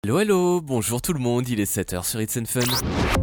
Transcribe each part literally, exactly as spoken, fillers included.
Hello hello, bonjour tout le monde, il est sept heures sur It's and Fun.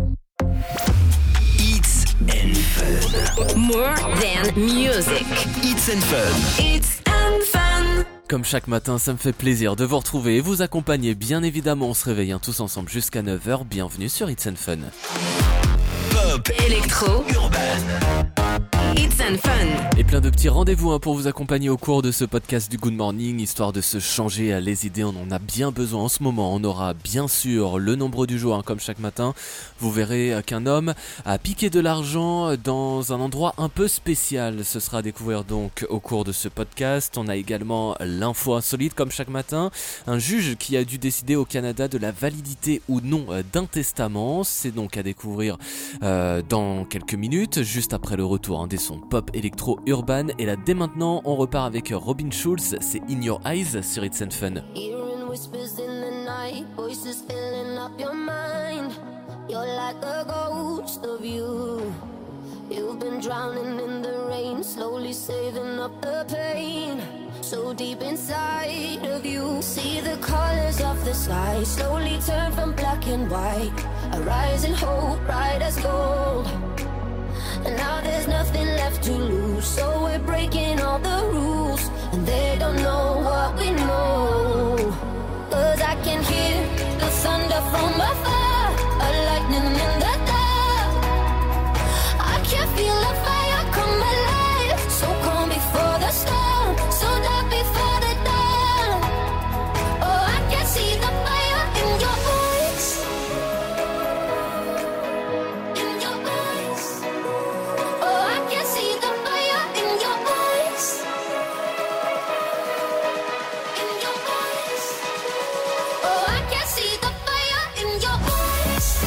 It's and Fun. More than music. It's and Fun. It's and Fun. Comme chaque matin, ça me fait plaisir de vous retrouver et vous accompagner. Bien évidemment, on se réveille hein, tous ensemble jusqu'à neuf heures. Bienvenue sur It's and Fun. Pop, Électro, urban. It's and Fun. Et plein de petits rendez-vous hein, pour vous accompagner au cours de ce podcast du Good Morning, histoire de se changer les idées. On en a bien besoin en ce moment. On aura bien sûr le nombre du jour, hein, comme chaque matin. Vous verrez qu'un homme a piqué de l'argent dans un endroit un peu spécial. Ce sera à découvrir donc au cours de ce podcast. On a également l'info insolite, comme chaque matin. Un juge qui a dû décider au Canada de la validité ou non d'un testament. C'est donc à découvrir euh, dans quelques minutes, juste après le retour hein, des sons pop, électro, urban. Et là, dès maintenant, on repart avec Robin Schulz. C'est In Your Eyes sur It's and Fun. Hearing whispers in the night, voices filling up your mind. You're like a ghost of you. You've been drowning in the rain, slowly saving up the pain. So deep inside of you, see the colors of the sky slowly turn from black and white. A rising hope, bright as gold. And now there's nothing left to lose, so we're breaking all the rules. And they don't know what we know. Cause I can hear the thunder from afar, a lightning in the dark. I can feel the fire come alive, so calm before the storm, so dark before the dawn. Oh, I can see the fire in your eyes, in your eyes. Oh, I can see the fire in your eyes, in your eyes. Oh, I can see the fire in your eyes.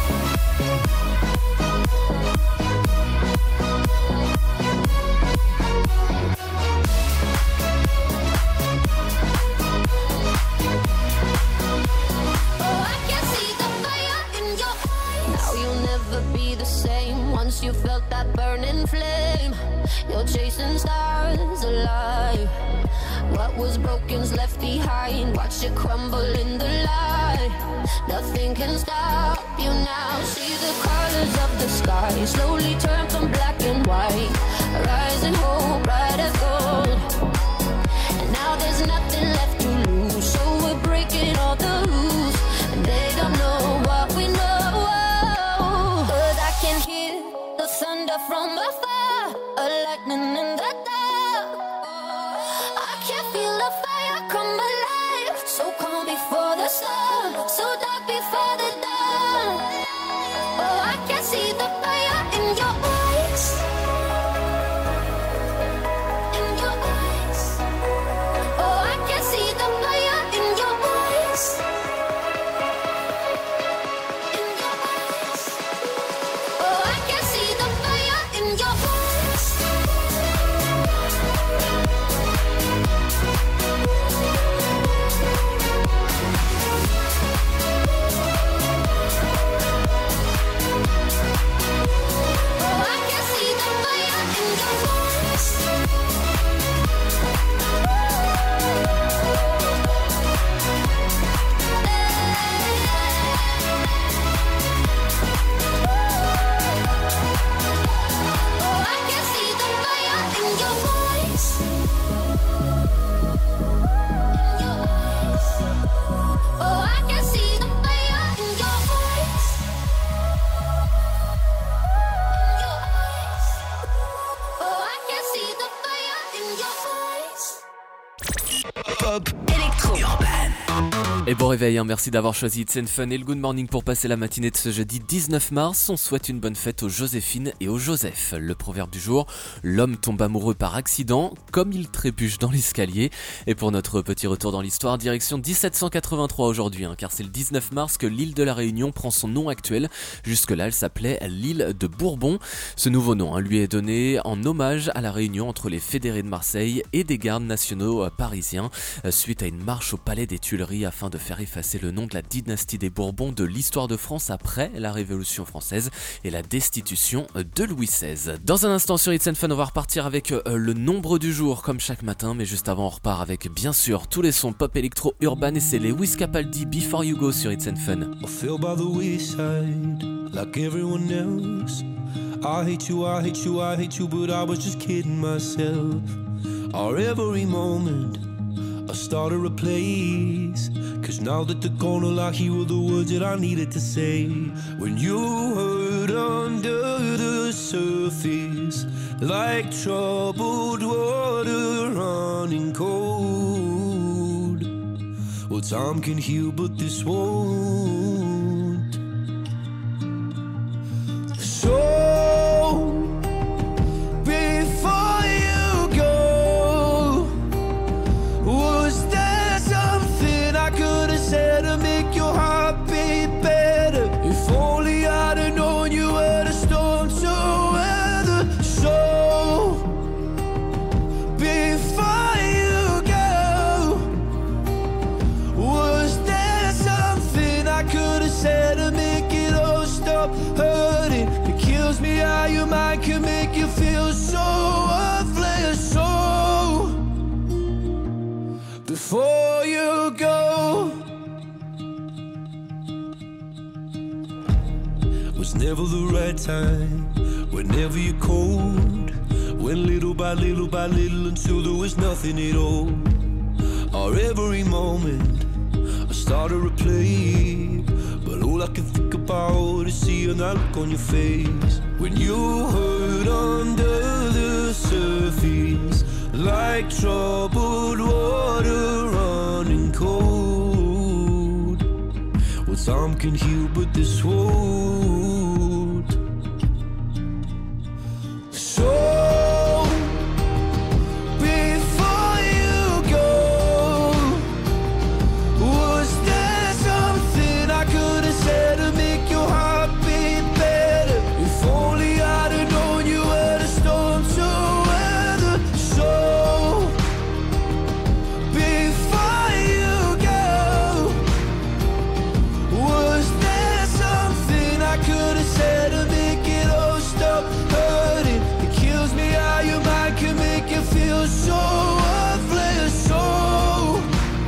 Oh, I can see the fire in your eyes. Now you'll never be the same once you felt that burning flame. You're chasing stars alive. What was broken's left behind. Watch it crumble in the light. Nothing can stop you now. See the colors of the sky slowly turn from black and white. Rising hope, bright as gold. And now there's nothing left to lose, so we're breaking all the rules. And they don't know what we know. Cause I can hear the thunder from afar, a lightning in the dark. I can feel the fire come alive, so calm before the storm, so dark before the dawn. Oh, I can see the fire in your eyes, in your eyes. Oh, I can see the fire in your eyes, in your eyes. Oh, I can see the fire in your eyes. Oh, I can see the fire in your eyes. Oh, I can see the fire in your eyes. In your eyes. Oh, I can see the fire in your eyes. In your eyes. Oh, I can see the fire in your eyes. Pop, Électro, urban. Et bon réveil, hein, merci d'avoir choisi It's and Fun et le Good Morning pour passer la matinée de ce jeudi dix-neuf mars. On souhaite une bonne fête aux Joséphine et aux Joseph. Le proverbe du jour, l'homme tombe amoureux par accident, comme il trébuche dans l'escalier. Et pour notre petit retour dans l'histoire, direction dix-sept cent quatre-vingt-trois aujourd'hui, hein, car c'est le dix-neuf mars que l'île de la Réunion prend son nom actuel. Jusque-là, elle s'appelait l'île de Bourbon. Ce nouveau nom hein, lui est donné en hommage à la réunion entre les fédérés de Marseille et des gardes nationaux euh, parisiens, euh, suite à une marche au palais des Tuileries afin de faire faire effacer le nom de la dynastie des Bourbons de l'histoire de France après la Révolution française et la destitution de Louis seize. Dans un instant sur It's and Fun, on va repartir avec euh, le nombre du jour comme chaque matin, mais juste avant on repart avec bien sûr tous les sons pop électro urbain et c'est les Wiz Capaldi Before You Go sur It's and Fun. I feel by the wayside, like everyone else. I hate you, I hate you, I hate you, but I was just kidding myself. Our every moment, I started a place. Cause now that they're gone, all I hear were the words that I needed to say. When you hurt under the surface, like troubled water running cold. Well, time can heal, but this won't. So, before you go, was there something I could have said to make your heart beat better? If only I'd have known you were the storm to weather. So, before you go, was there something I could have said to make it all stop hurting? It kills me how your mind can make you feel so worthless. So, before you go, was never the right time, whenever you're cold. Went little by little by little until there was nothing at all. Our every moment, I started to play, but all I can think about is seeing that look on your face. When you hurt under the surface, like troubled water running cold. Well, time can heal, but this won't. So, before you go, was there something I could have said to make your heart beat better? If only I'd have known you were the storm to weather. So, before you go, was there something I could have said to make it all stop hurting? It kills me how your mind can make you feel so worthless. So,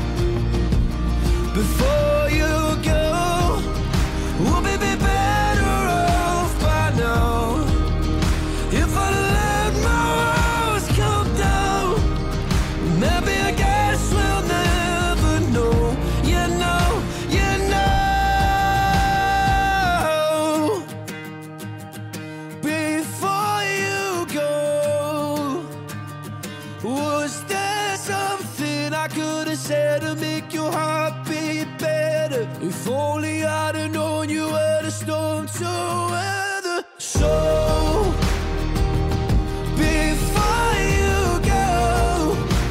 before you go, we'll be better off by now. If I let my walls come down, maybe I guess we'll never know. You know, you know. Before you go, was there something I could have said to make your heart beat better? If only I'd have known you were the storm to weather. So, before you go,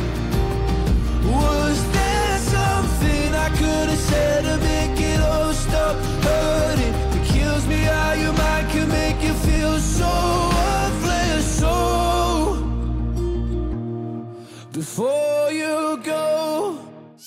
was there something I could have said to make it all stop hurting? It kills me how your mind can make you feel so worthless. So, before you go.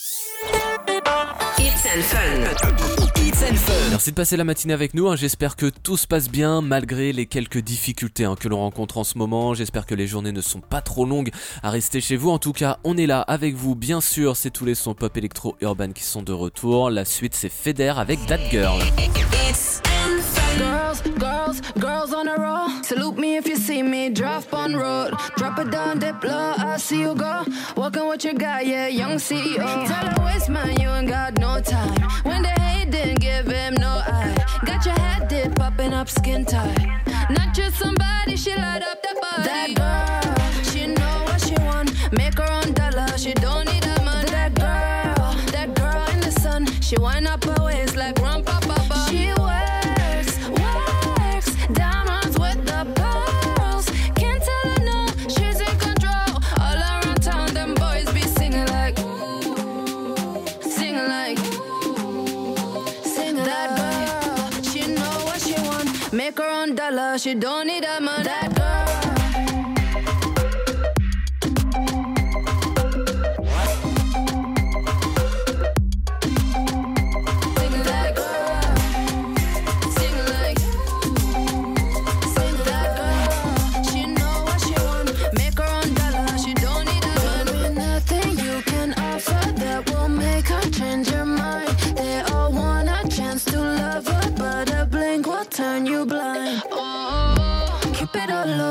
It's and Fun. It's and Fun. Merci de passer la matinée avec nous, hein. J'espère que tout se passe bien malgré les quelques difficultés hein, que l'on rencontre en ce moment. J'espère que les journées ne sont pas trop longues à rester chez vous. En tout cas, on est là avec vous, bien sûr, c'est tous les sons pop électro urban qui sont de retour. La suite, c'est Feder avec That Girl. It's and Fun. Girls, girls, girls on a roll. Salute me if you see me, drive on road. Drop it down, dip low, I see you go. Walking with your guy, yeah, young C E O. Tell her waste man, you ain't got no time. When they hate, didn't give him no eye. Got your head dip, popping up skin tight. Not just somebody, she light up the body. That girl, she know what she want. Make her own dollar, she don't need a man. That girl, that girl in the sun. She wind up her waist like rum pa pa pa. She works, works, diamonds with the pearls. Can't tell her no, she's in control. All around town, them boys be singing like, singing like, singing that girl. She know what she want. Make her own dollar, she don't need a man. That girl.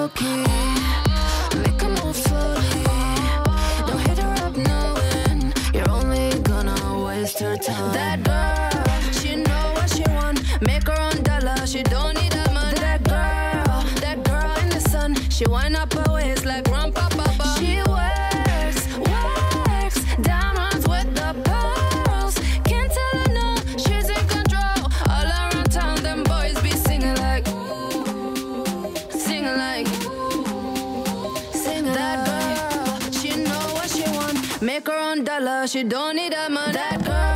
low-key. Make a move slowly. Don't hit her up knowing you're only gonna waste her time. That girl, she know what she want. Make her own dollar, she don't need a man. That girl, that girl in the sun, she wind up her waist like Grandpa Papa. She works, works, diamonds with the pearls. Can't tell her no, she's in control. All around town, them boys be singing like, singing like, singing that girl, she know what she want. Make her own dollar, she don't need a man. That girl.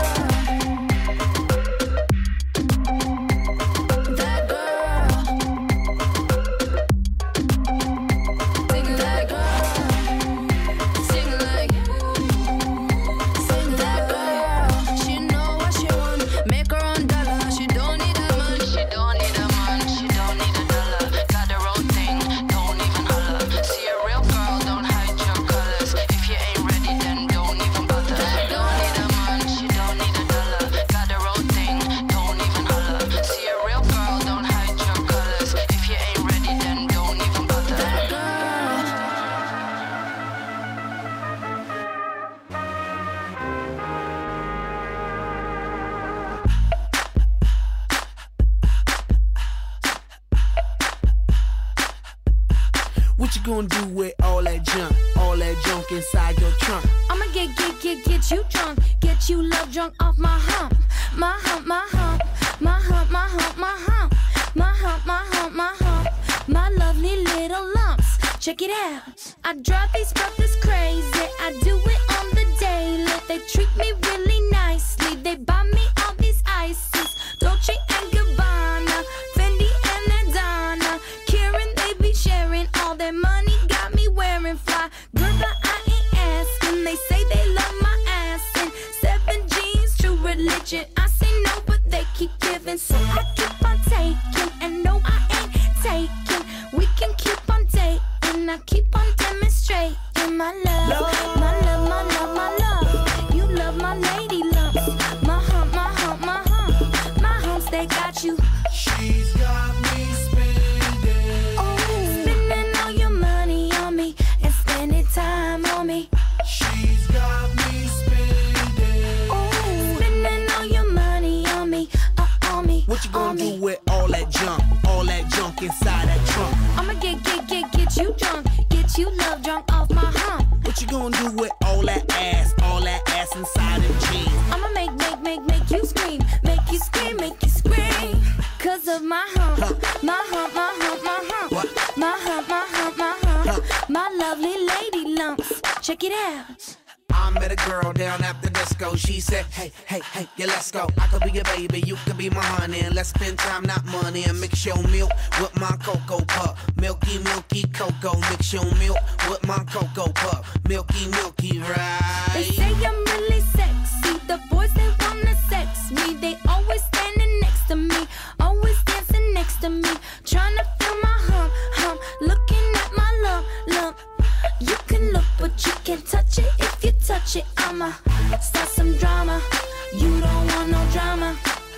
What you gonna do with all that junk, all that junk inside your trunk? I'ma get, get, get, get you drunk, get you love drunk off my hump, my hump, my hump, my hump, my hump, my hump, my hump, my hump, my hump, my lovely little lumps. Check it out. I drive these brothers crazy. I do it on the daily. They treat me really nicely. They buy me all these ices, Dolce and Gabbana, Fendi and Adana, Karen. They be sharing all their money. Got me wearing fly. Girl, but I ain't asking. They say they love my ass and seven jeans, true religion. I say no, but they keep giving, so I keep on taking. And no, I ain't taking. We can keep on dating. I keep on demonstrating my love, my love, my love, my love. You love my lady lumps, my hump, my hump, my hump, my humps. They got you. She's got me spending, oh, spending all your money on me and spending time on me. She's got me spending, oh, spending all your money on me, uh, on me. What you gonna do me. with all that junk, all that junk inside that trunk? I'ma get, get, get, get you drunk, get you love drunk off my hump. What you gonna do with all that ass, all that ass inside them jeans? I'ma make, make, make, make you scream, make you scream, make you scream. Cause of my hump, Huh. my hump, my hump, my hump, What? my hump, my hump, my hump, Huh. my lovely lady lumps. Check it out. I met a girl down at the disco. She said, hey, hey, hey, yeah, let's go. I could be your baby, you could be my honey. And let's spend time, not money. And mix your milk with my cocoa pup. Milky, milky cocoa. Mix your milk with my cocoa pup. Milky, milky, right? They say I'm really sexy. The boys, they wanna sex me. They always standing next to me, always dancing next to me, trying to feel my hump, hump, looking at my lump, lump. You can look, but you can't touch it. If you touch it, I'ma start some drama. You don't want no drama,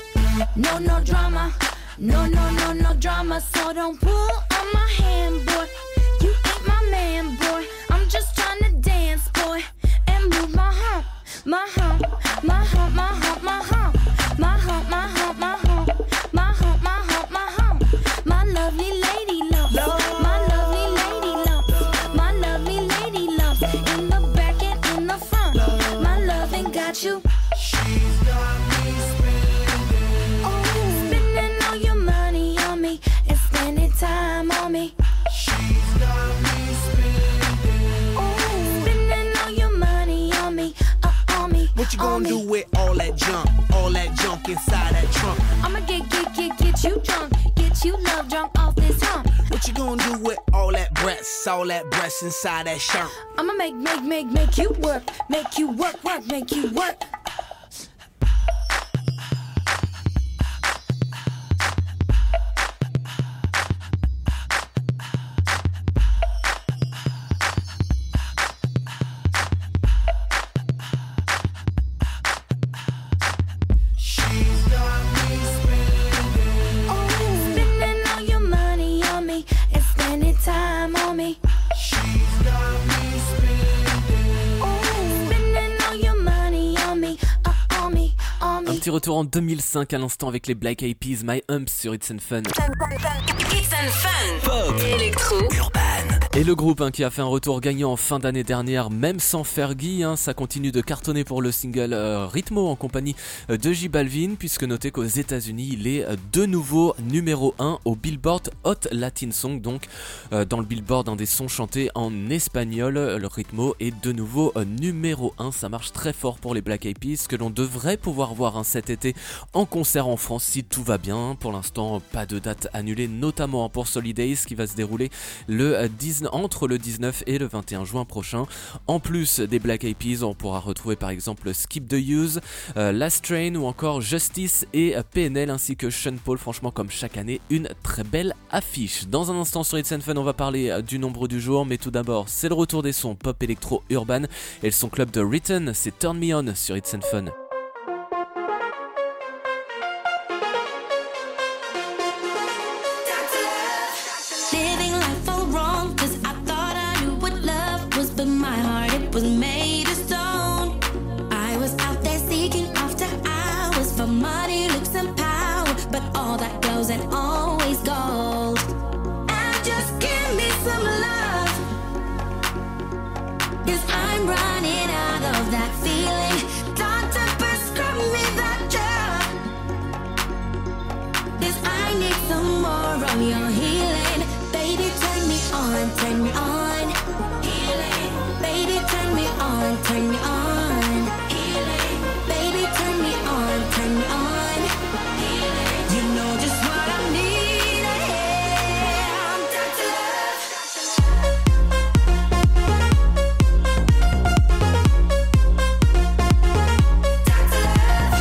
no, no drama, no, no, no, no drama. So don't pull on my hand, boy. You ain't my man, boy. I'm just trying to dance, boy, and move my hump, my hump, my hump, my hump, my hump, my hump, my hump, my hump, my hump, my hump, my hump, my lovely lady lumps, my lovely lady lumps, my lovely lady lumps, in the back and in the front, my loving got you. She's got me spending, Oh, spending all your money on me and spending time on me. she's got me spending. Oh, spending all your money on me, uh, on me. What you on gonna do me. with all that junk, all that junk inside that trunk? I'ma get, get, get, get you drunk, get you love drunk off this hump. What you gonna do with all that breasts, all that breasts inside that shirt? I'ma make, make, make, make you work, make you work, work, make you work. She's got me spending, Oh, spending all your money on me and spending time petit retour en deux mille cinq à l'instant avec les Black Eyed Peas, My Humps sur It's and Fun. It's and Fun. Pop. Électro. Urban. Et le groupe hein, qui a fait un retour gagnant en fin d'année dernière, même sans Fergie, hein, ça continue de cartonner pour le single euh, Ritmo en compagnie euh, de J Balvin, puisque notez qu'aux États-Unis il est euh, de nouveau numéro un au Billboard Hot Latin Song, donc euh, dans le Billboard un des sons chantés en espagnol, euh, le Ritmo est de nouveau euh, numéro un, ça marche très fort pour les Black Eyed Peas, que l'on devrait pouvoir voir hein, cet été en concert en France si tout va bien. Pour l'instant pas de date annulée, notamment pour Solidays qui va se dérouler le euh, dix-neuf entre le dix-neuf et le vingt et un juin prochain. En plus des Black Eyed Peas, on pourra retrouver par exemple Skip the Use, euh, Last Train ou encore Justice et euh, P N L ainsi que Sean Paul. Franchement, comme chaque année, une très belle affiche. Dans un instant sur It's and Fun, on va parler euh, du nombre du jour, mais tout d'abord, c'est le retour des sons pop électro urban et le son club de Written, c'est Turn Me On sur It's and Fun. Was made of stone. I was out there seeking after hours for money, looks and power, but all that glows and always gold. And just give me some love, 'cause I'm running out of that feeling. Doctor, prescribe me that drug, 'cause I need some more of your healing. Baby, turn me on, turn me on. Baby, turn me on, turn me on. Healing. Baby, turn me on, turn me on. Healing. You know just what I need. I'm down to love. Down to love.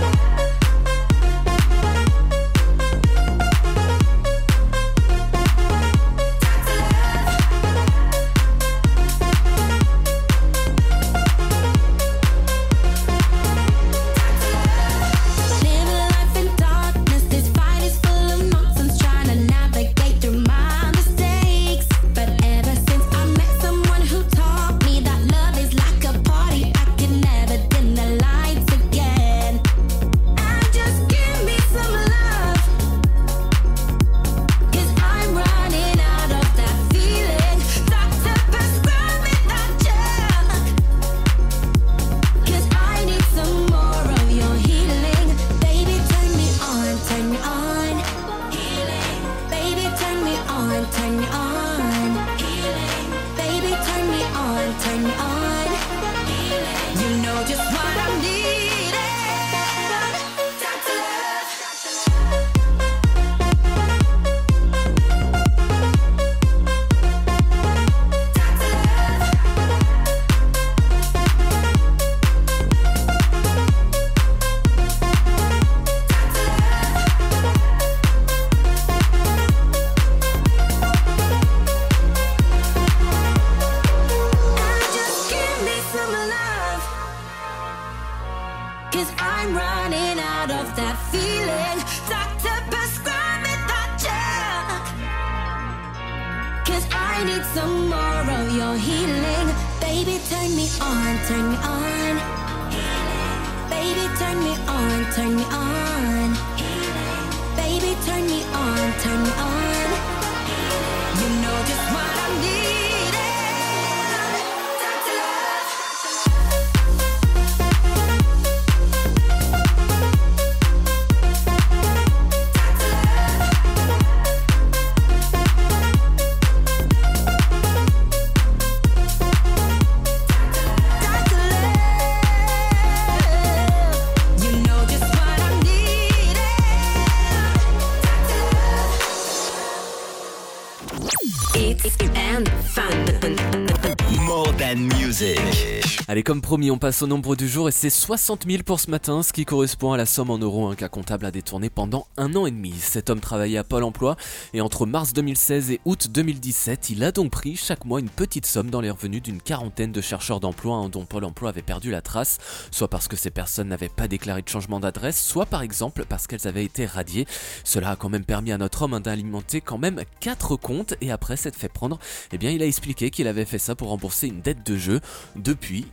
Allez, comme promis, on passe au nombre du jour et c'est soixante mille pour ce matin, ce qui correspond à la somme en euros qu'un comptable a détourné pendant un an et demi. Cet homme travaillait à Pôle emploi et entre mars deux mille seize et août deux mille dix-sept, il a donc pris chaque mois une petite somme dans les revenus d'une quarantaine de chercheurs d'emploi hein, dont Pôle emploi avait perdu la trace, soit parce que ces personnes n'avaient pas déclaré de changement d'adresse, soit par exemple parce qu'elles avaient été radiées. Cela a quand même permis à notre homme hein, d'alimenter quand même quatre comptes et après s'être fait prendre, eh bien il a expliqué qu'il avait fait ça pour rembourser une dette de jeu. Depuis,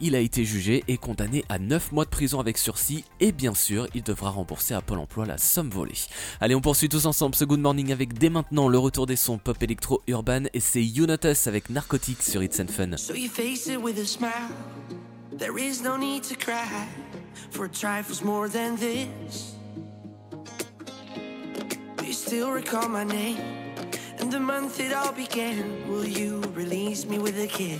il a été jugé et condamné à neuf mois de prison avec sursis et bien sûr, il devra rembourser à Pôle emploi la somme volée. Allez, on poursuit tous ensemble ce Good Morning avec dès maintenant le retour des sons pop électro urban et c'est You Not Us avec Narcotics sur It's and Fun. So you face it with a smile. There is no need to cry for trifles more than this. Do you still recall my name and the month it all began? Will you release me with a kiss?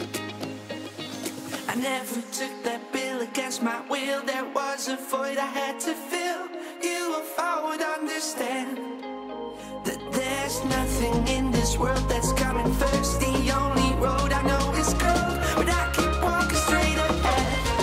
I never took that bill against my will. There was a void I had to fill. You, if I would understand that there's nothing in this world that's coming first. The only road I know is cold, but I keep walking straight ahead.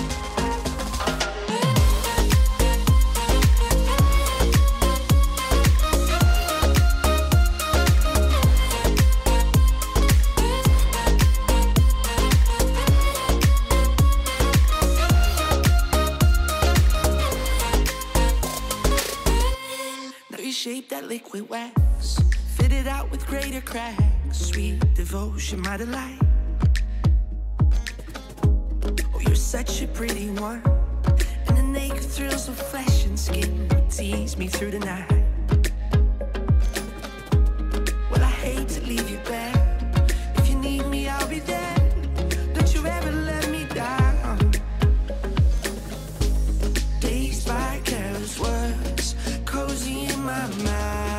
Shape that liquid wax, fit it out with greater cracks. Sweet devotion, my delight. Oh, you're such a pretty one, and the naked thrills of flesh and skin tease me through the night. Well, I hate to leave you back. If you need me, I'll be there. Don't you ever let me down. Dazed by careless words, cozy in my mind.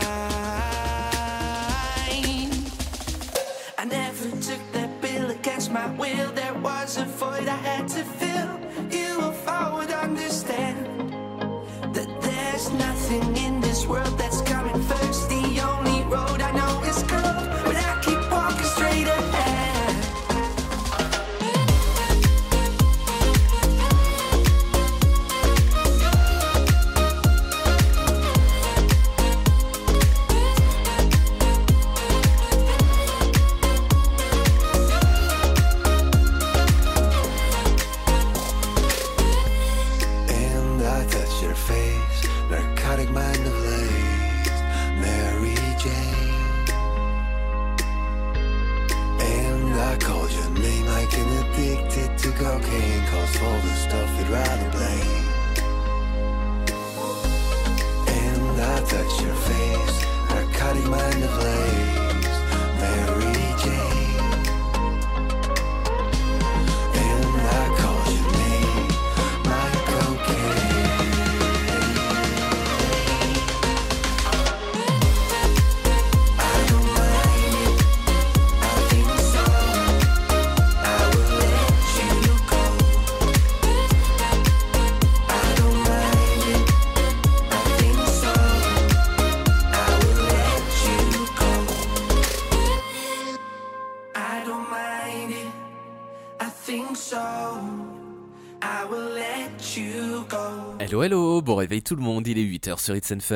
I never took that bill against my will. There was a void I had to fill. You, if I would understand that there's nothing in this world that's coming first. The only road I know is cold, but I keep walking straight ahead. Cocaine calls for the stuff you'd rather blame. And I touch your face, narcotic mind ablaze, Mary Jane. And I call your name, my cocaine. I don't mind it, I think so. I will let you go. I don't mind it, I think so. I will let you go. I don't mind it, I think so. I will let you go. Hello hello, bon réveil tout le monde, il est huit heures sur It's and Fun.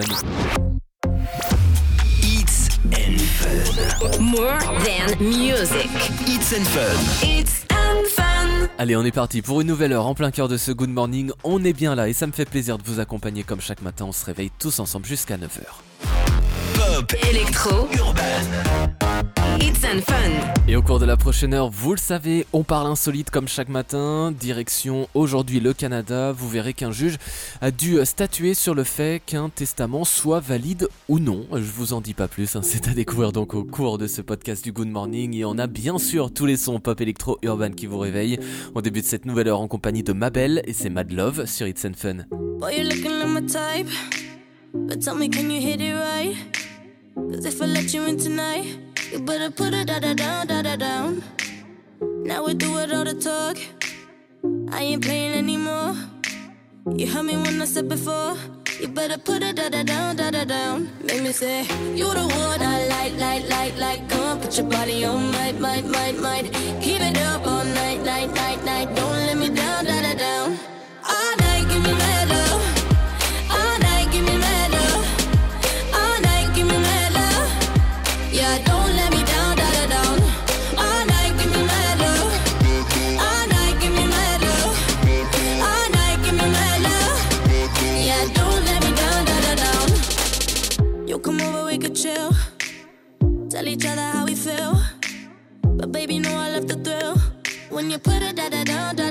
It's and Fun. More than music. It's and Fun. It's and fun. Allez, on est parti pour une nouvelle heure en plein cœur de ce Good Morning. On est bien là et ça me fait plaisir de vous accompagner comme chaque matin. On se réveille tous ensemble jusqu'à neuf heures. Pop, Électro. urban. It's and fun. Et au cours de la prochaine heure, vous le savez, on parle insolite comme chaque matin. Direction aujourd'hui le Canada. Vous verrez qu'un juge a dû statuer sur le fait qu'un testament soit valide ou non. Je vous en dis pas plus, hein. C'est à découvrir donc au cours de ce podcast du Good Morning. Et on a bien sûr tous les sons pop électro urban qui vous réveillent. On débute cette nouvelle heure en compagnie de Mabel et c'est Mad Love sur It's and Fun. Boy, you're looking like my type, but tell me, can you hit it right? Cause if I let you in tonight, you better put it da-da down, da-da down. Now we do it all the talk, I ain't playing anymore. You heard me when I said before, you better put it da-da down, da-da down. Make me say, you the one I like, like, like, like. Come on, put your body on, might, might, might, might. Keep it up all night, night, night, night. Don't let me down, da-da down. All night, give me mad love. All night, give me mad love. All night, give me mad love. Yeah, don't let me down, da-da down. All night, give me mad love. All night, give me mad love. All night, give me mad love. Yeah, don't let me down, da-da down. You come over, we could chill. Tell each other how we feel. But baby, know I love the thrill. When you put it da-da down, da-da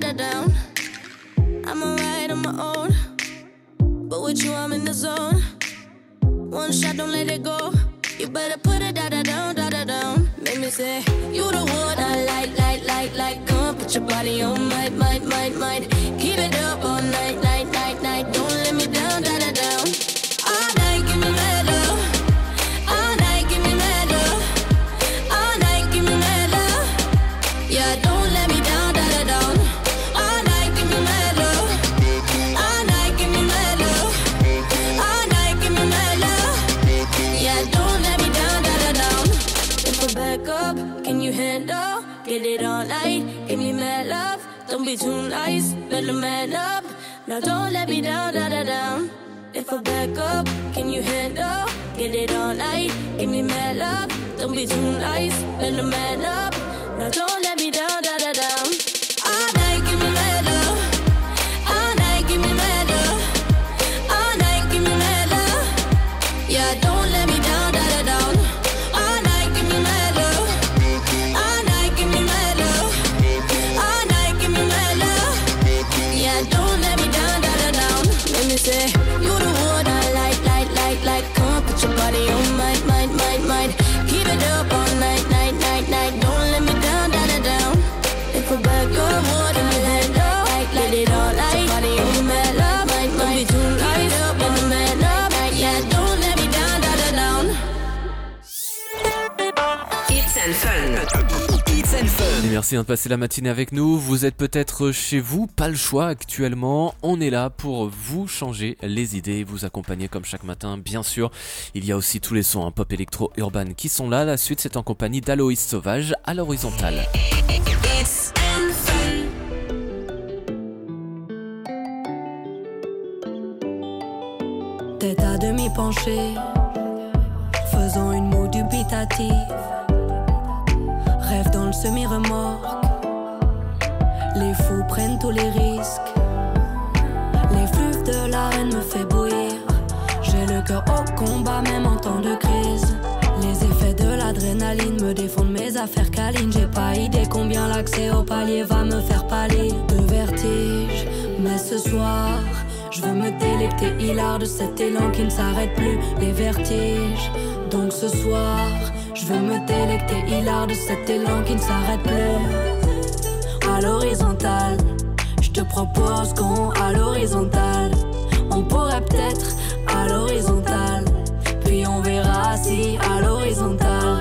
da down. I'm alright on my own, but with you I'm in the zone. One shot, don't let it go. You better put it da da down, da da down. Make me say, you the one I like, like, like, like. Come put your body on, might, might, might, might. Keep it up all night, night, night, night. Don't let me down, da da down. All night, give me mad love. All night, give me mad love. All night, give me mad love. Yeah, don't let me down, da da down. All night, give me mad love. All night, give me mad love. All night, give me mad love. Yeah, don't let me down, da da down. If I back up, can you handle? Get it all night, give me mad love. Don't be too nice, better man up. Now don't let me down, da da down. If I back up, can you handle? Get it all night, give me mad love. Don't be too nice, better man up. Now don't let me down, da da down. All night, give me mad love. All night, give me mad love. All night, give me mad love. Yeah, don't let me down, da da down. All night, give me mad love. All night, give me mad love. All night, give me mad love. Yeah, don't let me down, da da down. Let me say, you the one I like, like, like, like. Come put your body on, might, might, might, might. Keep it up all night, night, night, night. Don't let me down, da da down. If I back up, what in your head up? Like, let it all night. Body on mad love, might, might. Don't be too nice, up in the man up. Yeah, don't let me down, da da down. It's and Fun. It's and Fun. Et merci de passer la matinée avec nous. Vous êtes peut-être chez vous, pas le choix actuellement. On est là pour vous changer les idées, vous accompagner comme chaque matin, bien sûr. Il y a aussi tous les sons hein, pop électro urban qui sont là. La suite, c'est en compagnie d'Aloïs Sauvage à l'horizontale. It's and Fun. Tête à demi penchée, faisant une moue dubitative. Rêve dans le semi-remorque, les fous prennent tous les risques. L'effluve de l'arène me fait bouillir. J'ai le cœur au combat même en temps de crise. Les effets de l'adrénaline me défendent mes affaires câlines. J'ai pas idée combien l'accès au palier va me faire pâlir de vertige. Mais ce soir, je veux me délecter hilar de cet élan qui ne s'arrête plus, les vertiges. Donc ce soir, je veux me délecter hilar de cet élan qui ne s'arrête plus. À l'horizontale, je te propose qu'on à l'horizontale. On pourrait peut-être à l'horizontale, puis on verra si à l'horizontale.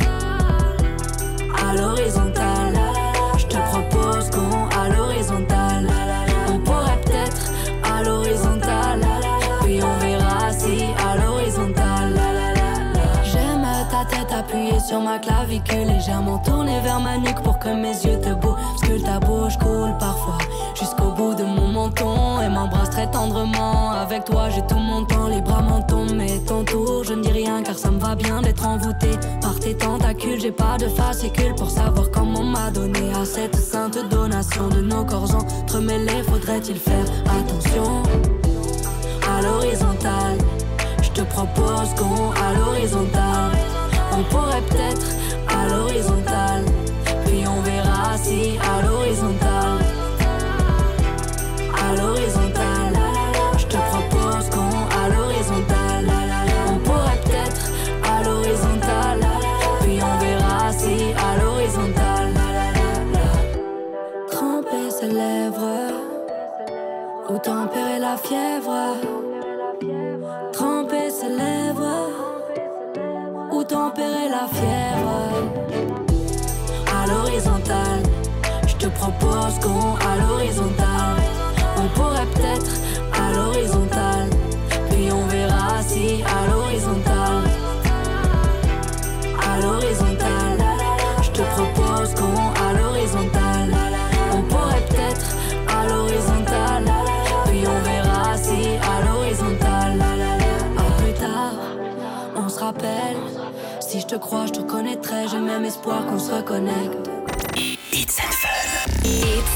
À l'horizontale, je te propose qu'on à l'horizontale. On pourrait peut-être à l'horizontale, puis on verra si à l'horizontale. J'aime ta tête appuyée sur ma clavicule, légèrement tournée vers ma nuque pour que mes yeux te bousculent. Ta bouche coule parfois jusqu'au bout de mon menton et m'embrasse très tendrement. Avec toi j'ai tout mon temps, les bras m'en tombent. Mais ton tour, je ne dis rien car ça me va bien d'être envoûté par tes tentacules. J'ai pas de fascicule pour savoir comment on m'a donné à cette sainte donation de nos corps entremêlés. Faudrait-il faire attention? À l'horizontale, je te propose qu'on à l'horizontale. On pourrait peut-être à l'horizontale, puis on verra si à l'horizontale. À l'horizontale, je te propose qu'on à l'horizontale. On pourrait peut-être à l'horizontale, puis on verra si à l'horizontale. Tremper ses lèvres ou tempérer la fièvre. Tremper ses lèvres ou tempérer la fièvre. À l'horizontale, je te propose qu'on à l'horizontale. On pourrait peut-être à l'horizontale, puis on verra si à l'horizontale. À l'horizontale, je te propose qu'on à l'horizontale. On pourrait peut-être à l'horizontale, puis on verra si à l'horizontale. À plus tard, on se rappelle. Si je te crois, je te connaîtrai. J'ai même espoir qu'on se reconnecte. It's and Fun. It's and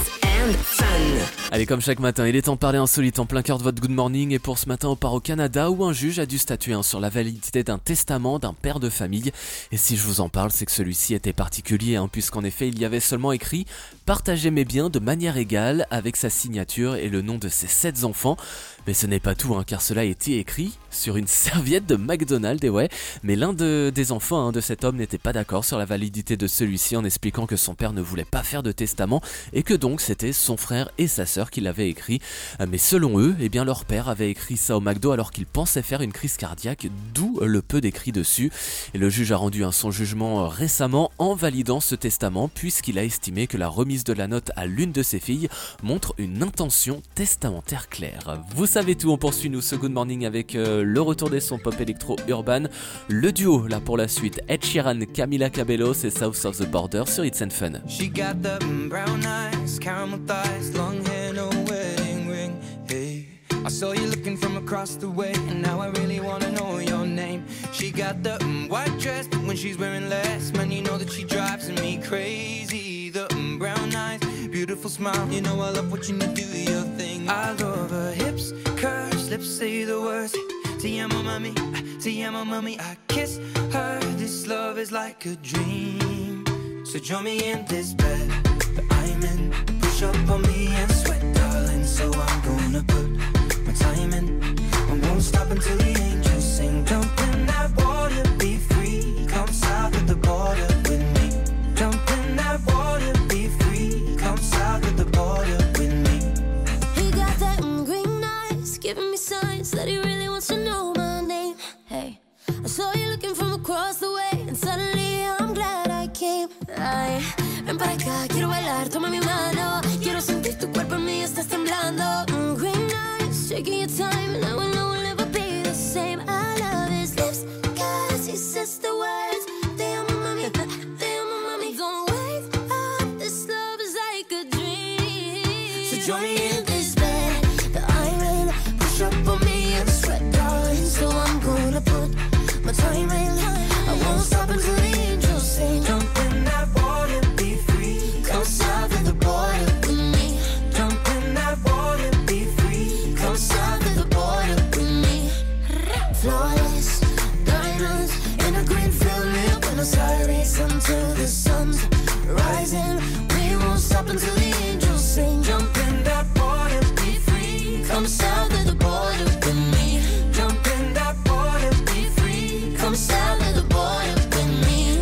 and Fun. Allez, comme chaque matin, il est temps de parler insolite en plein cœur de votre Good Morning. Et pour ce matin, on part au Canada où un juge a dû statuer hein, sur la validité d'un testament d'un père de famille. Et si je vous en parle, c'est que celui-ci était particulier hein, puisqu'en effet, il y avait seulement écrit « Partagez mes biens de manière égale » avec sa signature et le nom de ses sept enfants. Mais ce n'est pas tout, hein, car cela a été écrit sur une serviette de McDonald's, et ouais. Mais l'un de, des enfants hein, de cet homme n'était pas d'accord sur la validité de celui-ci en expliquant que son père ne voulait pas faire de testament et que donc c'était son frère et sa sœur qui l'avaient écrit. Mais selon eux, eh bien leur père avait écrit ça au McDo alors qu'il pensait faire une crise cardiaque, d'où le peu d'écrit dessus. Et le juge a rendu hein, son jugement récemment en validant ce testament puisqu'il a estimé que la remise de la note à l'une de ses filles montre une intention testamentaire claire. Vous savez tout, on poursuit nous ce Good Morning avec euh, le retour des sons pop électro urban. Le duo là pour la suite, Ed Sheeran, Camila Cabello, c'est South of the Border sur It's and Fun. She got the brown eyes, caramel thighs, long hair, no wedding ring. Hey, I saw you looking from across the way, and now I really wanna know your name. She got the um, white dress, but when she's wearing less, man, you know that she drives me crazy. The um, brown eyes, beautiful smile, you know I love watching you do your thing. I love her hips, curves, lips say the words. Te amo, mami, te amo, mami. I kiss her. This love is like a dream. So join me in this bed that I'm in. Push up on me and sweat, darling. So I'm gonna put my time in. I won't stop until the angels sing. Jump in that water, be free. Come south of the border with me. Jump in that water, be free. Come south of the border with me. He got that mm, green eyes, giving me signs that he really wants to know my name. Hey, I saw you looking from across the way, and suddenly I'm glad I came. Ay, ven para acá, quiero bailar, toma mi mano. Quiero sentir tu cuerpo en mí, estás temblando. Mm, green eyes, taking your time, and now I know we'll never be the same. I love his lips, cause he says the words. Te amo, mami, te amo, mami. Don't wake up, this love is like a dream. So join me in this bed that I'm in. Push up on me and sweat, darling. So I'm gonna put my time in. I won't stop until the angels sing. Jump in that water, be free. Come south of the border with me. Jump in that water, be free. Come south of the border with me. Flawless diamonds in a green field near Buenos Aires until the sun's rising. We won't stop until the angels sing. Jump in that water, be free. Come south of the border with me. Jump in that water, be free. Come south of the border with me.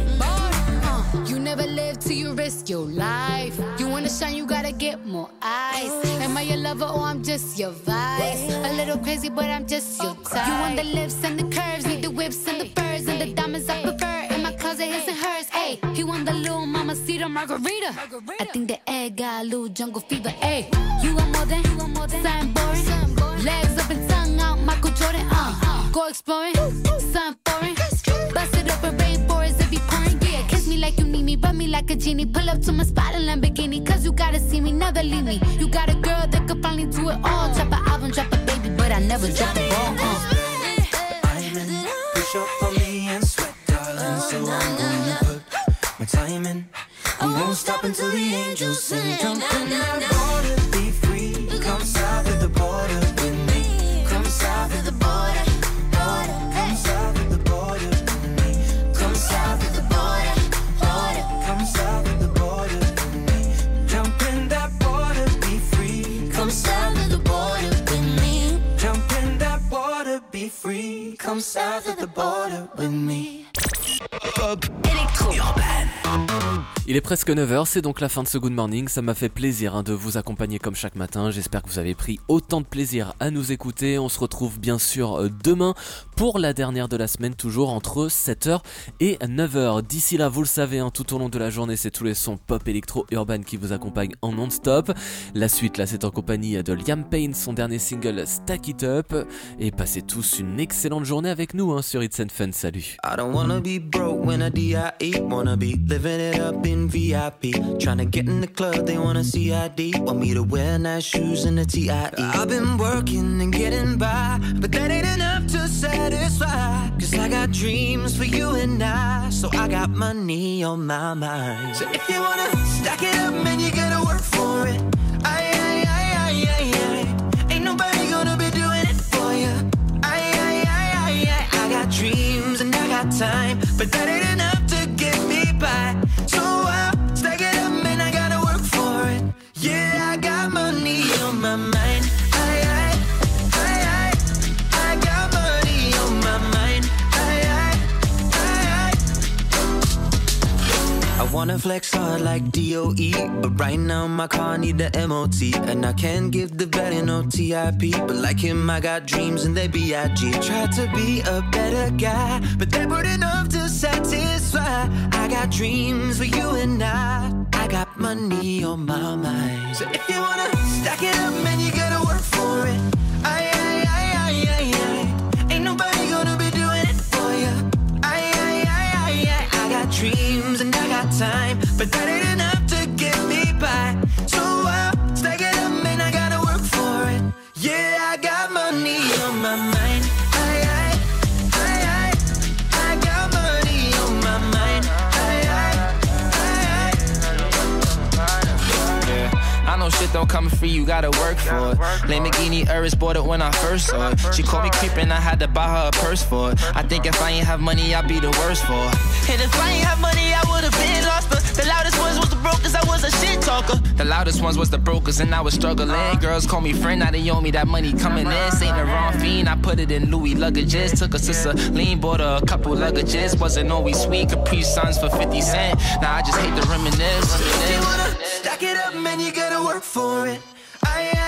Uh, you never live till you risk your life. You wanna shine, you gotta get more eyes. Am I your lover or I'm just your vice? A little crazy, but I'm just your type. You want the lips and the curves, need the whips and the furs and the diamonds I prefer. In my closet, his and hers. Ayy, he want the little mamacita margarita. I think the egg got a little jungle fever. Ayy, you want more than, you want more than something boring. Legs up and tongue out, Michael Jordan. Uh, go exploring, something foreign. Bust it up in rainforest if you pouring. Yeah, kiss me like you need me, rub me like a genie. Pull up to my spot in Lamborghini, cause you gotta see me, never leave me. You got a girl that could finally do it all. Drop an album, drop a baby, but I never drop the ball. Uh. I'm in, push up on me and sweat, darling. So I'm gonna put my time in. I won't stop until the angels sing. Jump in that water, be free. Come south of the border with me. Come south of the border, border. Come south of the border with me. Come south of the border, border. Come south of the border with me. Jump in that water, be free. Come south of the border with me. Jump in that water, be free. Come south of the border with me. Pop électro urbaine. Il est presque neuf heures, c'est donc la fin de ce Good Morning. Ça m'a fait plaisir hein, de vous accompagner comme chaque matin. J'espère que vous avez pris autant de plaisir à nous écouter. On se retrouve bien sûr demain pour la dernière de la semaine, toujours entre sept heures et neuf heures. D'ici là, vous le savez, hein, tout au long de la journée, c'est tous les sons pop électro urbaine qui vous accompagnent en non-stop. La suite, là, c'est en compagnie de Liam Payne, son dernier single Stack It Up. Et passez tous une excellente journée avec nous hein, sur It's and Fun. Salut. I don't wanna be broke when I D I E. Wanna be living it up in V I P. Tryna get in the club, they wanna C I D. Want me to wear nice shoes and a T I E. I've been working and getting by, but that ain't enough to satisfy. Cause I got dreams for you and I, so I got money on my mind. So if you wanna stack it up, man, you gotta work for it. I, I, I, I, I, I. Ain't nobody gonna be doing it for you. I, I, I, I, I. I got dreams and I got time, but that ain't enough to get me by. So I'll stack it up and I gotta work for it. Yeah, I got money on my mind. I, I, I, I. I got money on my mind. I, I, I, I. I wanna flex hard like D O E, but right now my car need the M O T, and I can't give the vet no T I P. But like him, I got dreams and they B I G. Tried to be a better guy, but they weren't enough to satisfy. I got dreams for you and I. I got money on my mind. So if you wanna stack it up, man, you gotta work for it. I, I, I, I, I, I. Ain't nobody gonna be doing it for you. I, I, I, I, I. I got dreams and I got time, but that ain't enough to get me by. So I'll stack it up, man, I gotta work for it. Yeah, I got money on my mind. I, I, I, I. I got money on my mind. I know shit don't come free, you gotta work for it. Lamborghini Urus bought it when I first saw it. She called me creepin', I had to buy her a purse for it. I think if I ain't have money, I'd be the worst for it. And if I ain't have money, I would've been lost her. The loudest ones was the brokers, I was a shit talker. The loudest ones was the brokers, and I was struggling. Girls call me friend, now they owe me that money coming in. Saint Laurent fiend, I put it in Louis luggages. Took a sister lean, bought her a couple luggages. Wasn't always sweet, Capri Suns for fifty cent. Now I just hate to reminisce. If you wanna stack it up, man, you gotta work for it. I,